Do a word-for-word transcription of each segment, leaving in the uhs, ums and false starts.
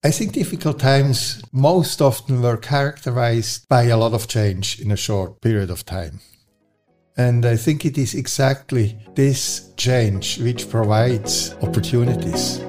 I think difficult times most often were characterized by a lot of change in a short period of time. And I think it is exactly this change which provides opportunities.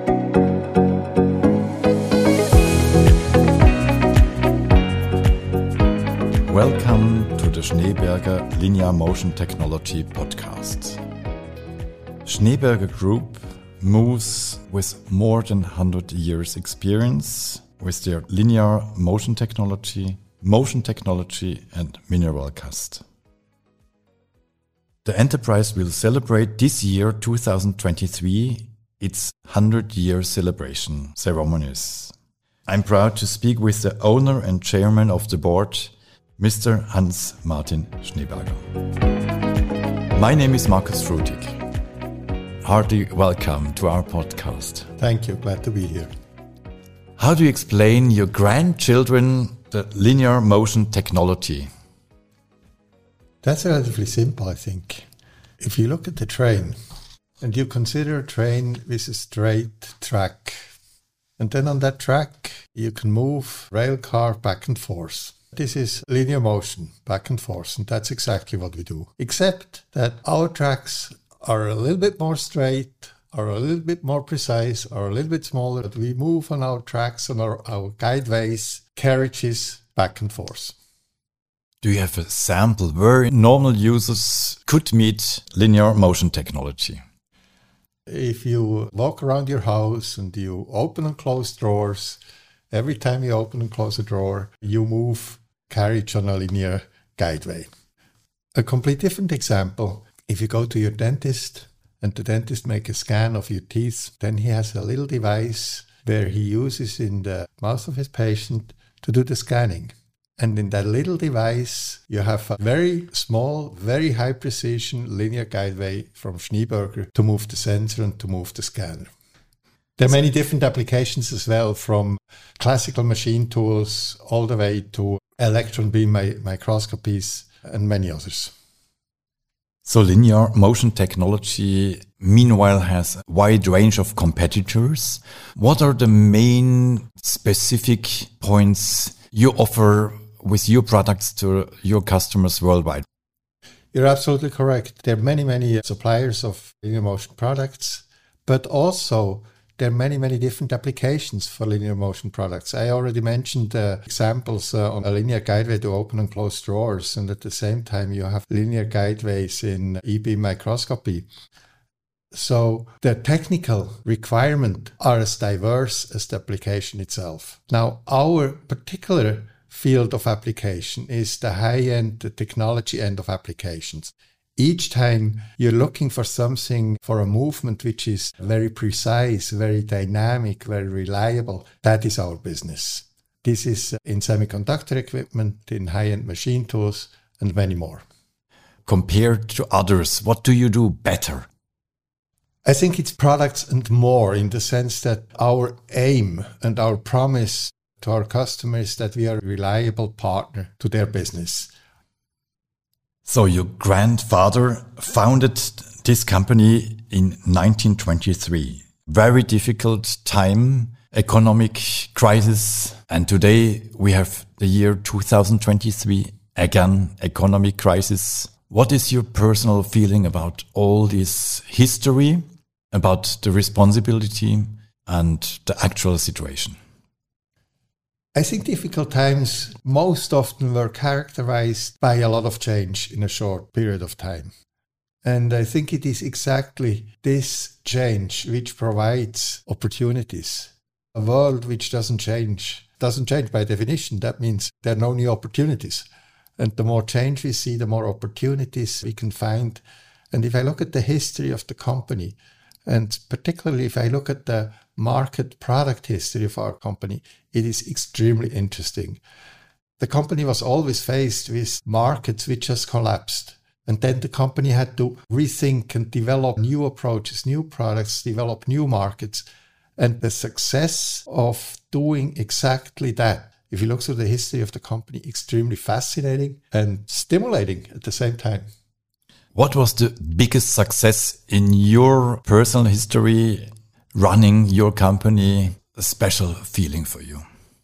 Welcome to the Schneeberger Linear Motion Technology podcast. Schneeberger Group moves with more than one hundred years experience with their linear motion technology, motion technology and mineral cast. The enterprise will celebrate this year, two thousand twenty-three, its one hundred year celebration ceremonies. I'm proud to speak with the owner and chairman of the board, Mister Hans-Martin Schneeberger. My name is Markus Frutig. Hearty welcome to our podcast. Thank you, glad to be here. How do you explain your grandchildren the linear motion technology? That's relatively simple, I think. If you look at the train and you consider a train with a straight track, and then on that track you can move rail car back and forth. This is linear motion, back and forth, and that's exactly what we do. Except that our tracks are a little bit more straight, are a little bit more precise, are a little bit smaller. But we move on our tracks, on our, our guideways, carriages, back and forth. Do you have a sample where normal users could meet linear motion technology? If you walk around your house and you open and close drawers, every time you open and close a drawer, you move carriage on a linear guideway. A complete different example, if you go to your dentist and the dentist makes a scan of your teeth, then he has a little device where he uses in the mouth of his patient to do the scanning. And in that little device, you have a very small, very high precision linear guideway from Schneeberger to move the sensor and to move the scanner. There are many different applications as well, from classical machine tools all the way to electron beam mi- microscopies and many others. So linear motion technology, meanwhile, has a wide range of competitors. What are the main specific points you offer with your products to your customers worldwide? You're absolutely correct. There are many, many suppliers of linear motion products, but also there are many, many different applications for linear motion products. I already mentioned uh, examples uh, on a linear guideway to open and close drawers, and at the same time you have linear guideways in E-beam microscopy. So the technical requirements are as diverse as the application itself. Now, our particular field of application is the high-end, the technology end of applications. Each time you're looking for something, for a movement which is very precise, very dynamic, very reliable, that is our business. This is in semiconductor equipment, in high-end machine tools, and many more. Compared to others, what do you do better? I think it's products and more, in the sense that our aim and our promise to our customers is that we are a reliable partner to their business. So your grandfather founded this company in nineteen twenty-three. Very difficult time, economic crisis. And today we have the year two thousand twenty-three, again, economic crisis. What is your personal feeling about all this history, about the responsibility and the actual situation? I think difficult times most often were characterized by a lot of change in a short period of time. And I think it is exactly this change which provides opportunities. A world which doesn't change, doesn't change by definition. That means there are no new opportunities. And the more change we see, the more opportunities we can find. And if I look at the history of the company, and particularly if I look at the market product history of our company, it is extremely interesting. The company was always faced with markets which just collapsed. And then the company had to rethink and develop new approaches, new products, develop new markets. And the success of doing exactly that, if you look through the history of the company, extremely fascinating and stimulating at the same time. What was the biggest success in your personal history running your company a special feeling for you?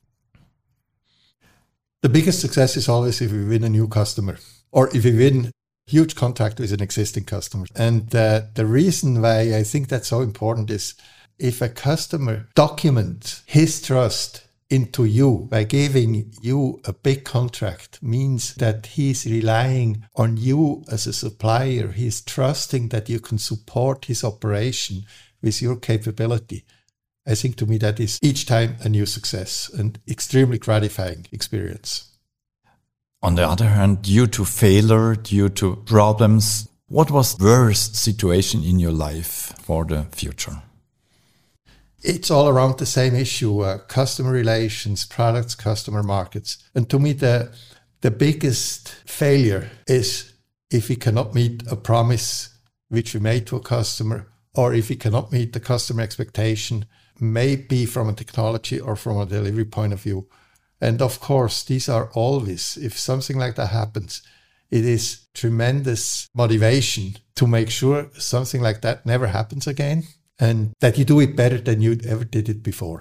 The biggest success is always if we win a new customer or if we win a huge contract with an existing customer. And uh, the reason why I think that's so important is if a customer documents his trust into you by giving you a big contract, means that he's relying on you as a supplier. He's trusting that you can support his operation with your capability. I think to me that is each time a new success and extremely gratifying experience. On the other hand, due to failure, due to problems, what was the worst situation in your life for the future? It's all around the same issue, uh, customer relations, products, customer markets. And to me, the, the biggest failure is if we cannot meet a promise which we made to a customer, or if we cannot meet the customer expectation, maybe from a technology or from a delivery point of view. And of course, these are always, if something like that happens, it is tremendous motivation to make sure something like that never happens again and that you do it better than you ever did it before.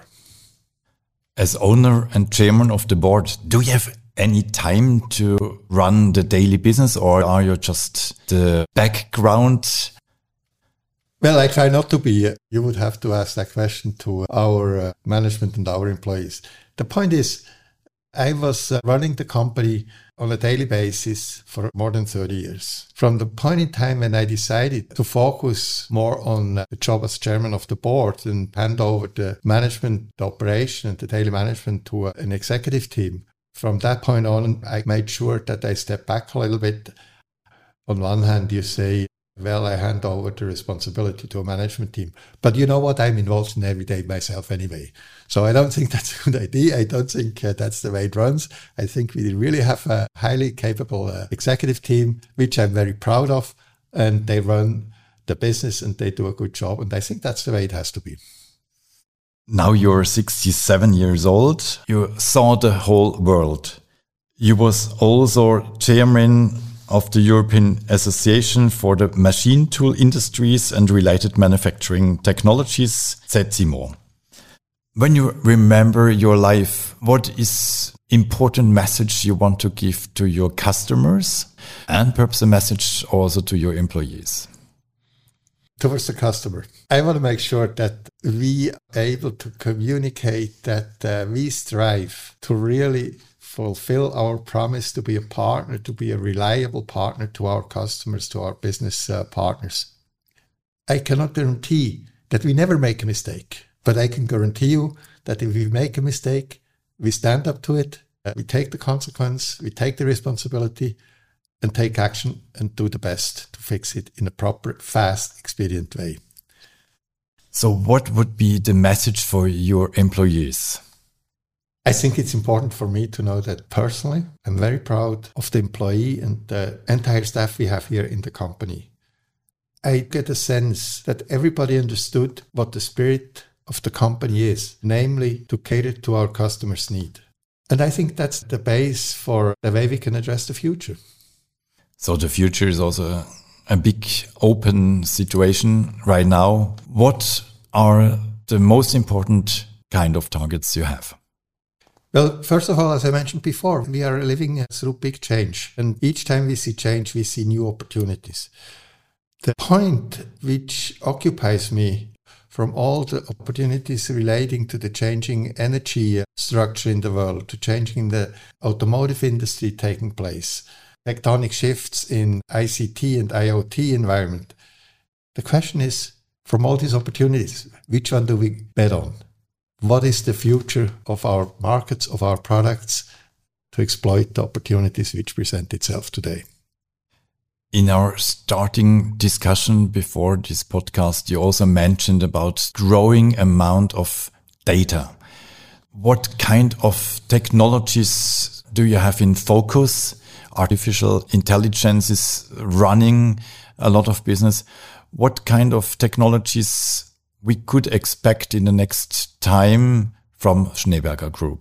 As owner and chairman of the board, do you have any time to run the daily business, or are you just the background? Well, I try not to be. You would have to ask that question to our uh, management and our employees. The point is, I was uh, running the company on a daily basis for more than thirty years. From the point in time when I decided to focus more on uh, the job as chairman of the board and hand over the management, the operation and the daily management to uh, an executive team, from that point on, I made sure that I stepped back a little bit. On one hand, you say, well, I hand over the responsibility to a management team. But you know what? I'm involved in every day myself anyway. So I don't think that's a good idea. I don't think uh, that's the way it runs. I think we really have a highly capable uh, executive team, which I'm very proud of. And they run the business and they do a good job. And I think that's the way it has to be. Now you're sixty-seven years old. You saw the whole world. You was also chairman of the European Association for the Machine Tool Industries and Related Manufacturing Technologies, Z E M O. When you remember your life, what is important message you want to give to your customers and perhaps a message also to your employees? Towards the customer, I want to make sure that we are able to communicate that uh, we strive to really fulfill our promise to be a partner, to be a reliable partner to our customers, to our business uh, partners. I cannot guarantee that we never make a mistake, but I can guarantee you that if we make a mistake, we stand up to it, uh, we take the consequence, we take the responsibility and take action and do the best to fix it in a proper, fast, expedient way. So what would be the message for your employees? I think it's important for me to know that personally, I'm very proud of the employee and the entire staff we have here in the company. I get a sense that everybody understood what the spirit of the company is, namely to cater to our customers' need. And I think that's the base for the way we can address the future. So the future is also a, a big open situation right now. What are the most important kind of targets you have? Well, first of all, as I mentioned before, we are living through big change. And each time we see change, we see new opportunities. The point which occupies me from all the opportunities relating to the changing energy structure in the world, to changing the automotive industry taking place, tectonic shifts in I C T and I O T environment. The question is, from all these opportunities, which one do we bet on? What is the future of our markets, of our products, to exploit the opportunities which present itself today? In our starting discussion before this podcast, you also mentioned about growing amount of data. What kind of technologies do you have in focus? Artificial intelligence is running a lot of business. What kind of technologies we could expect in the next time from Schneeberger Group?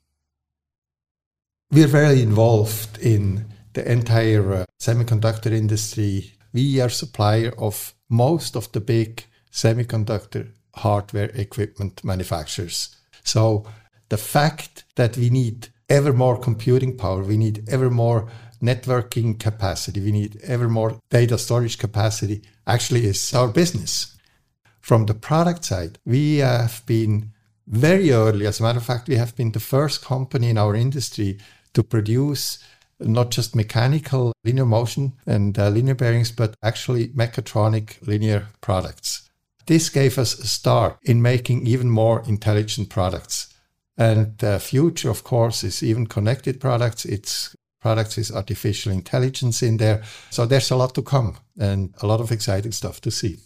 We are very involved in the entire uh, semiconductor industry. We are supplier of most of the big semiconductor hardware equipment manufacturers. So the fact that we need ever more computing power, we need ever more networking capacity, we need ever more data storage capacity actually is our business. From the product side, we have been very early. As a matter of fact, we have been the first company in our industry to produce not just mechanical linear motion and uh, linear bearings, but actually mechatronic linear products. This gave us a start in making even more intelligent products. And the future, of course, is even connected products. It's products with artificial intelligence in there. So there's a lot to come and a lot of exciting stuff to see.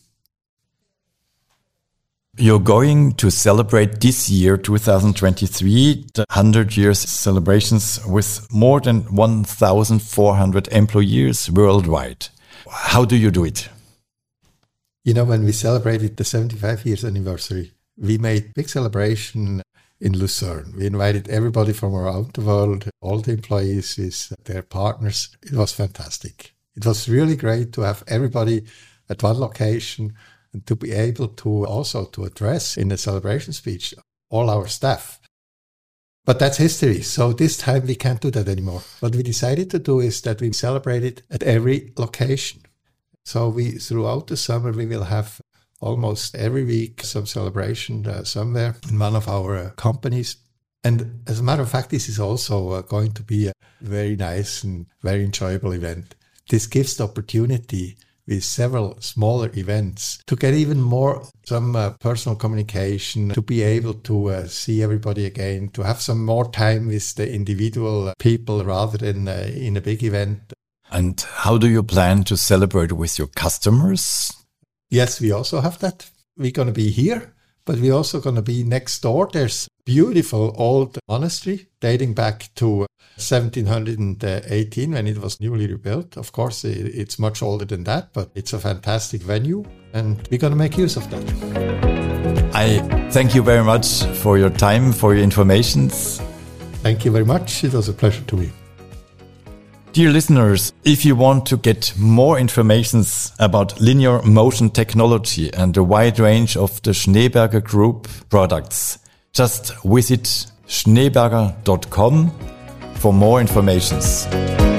You're going to celebrate this year, two thousand twenty-three, the one hundred years celebrations with more than one thousand four hundred employees worldwide. How do you do it? You know, when we celebrated the seventy-five years anniversary, we made big celebration in Lucerne. We invited everybody from around the world, all the employees with their partners. It was fantastic. It was really great to have everybody at one location and to be able to also to address in the celebration speech all our staff. But that's history. So this time we can't do that anymore. What we decided to do is that we celebrate it at every location. So we, throughout the summer, we will have almost every week some celebration uh, somewhere in one of our uh, companies. And as a matter of fact, this is also uh, going to be a very nice and very enjoyable event. This gives the opportunity with several smaller events to get even more, some uh, personal communication, to be able to uh, see everybody again, to have some more time with the individual people rather than uh, in a big event. And how do you plan to celebrate with your customers? Yes, we also have that. We're going to be here, but we're also going to be next door. There's a beautiful old monastery dating back to seventeen eighteen when it was newly rebuilt. Of course, it's much older than that, but it's a fantastic venue and we're going to make use of that. I thank you very much for your time, for your informations. Thank you very much. It was a pleasure to me. Dear listeners, if you want to get more information about linear motion technology and the wide range of the Schneeberger Group products, just visit schneeberger dot com for more information.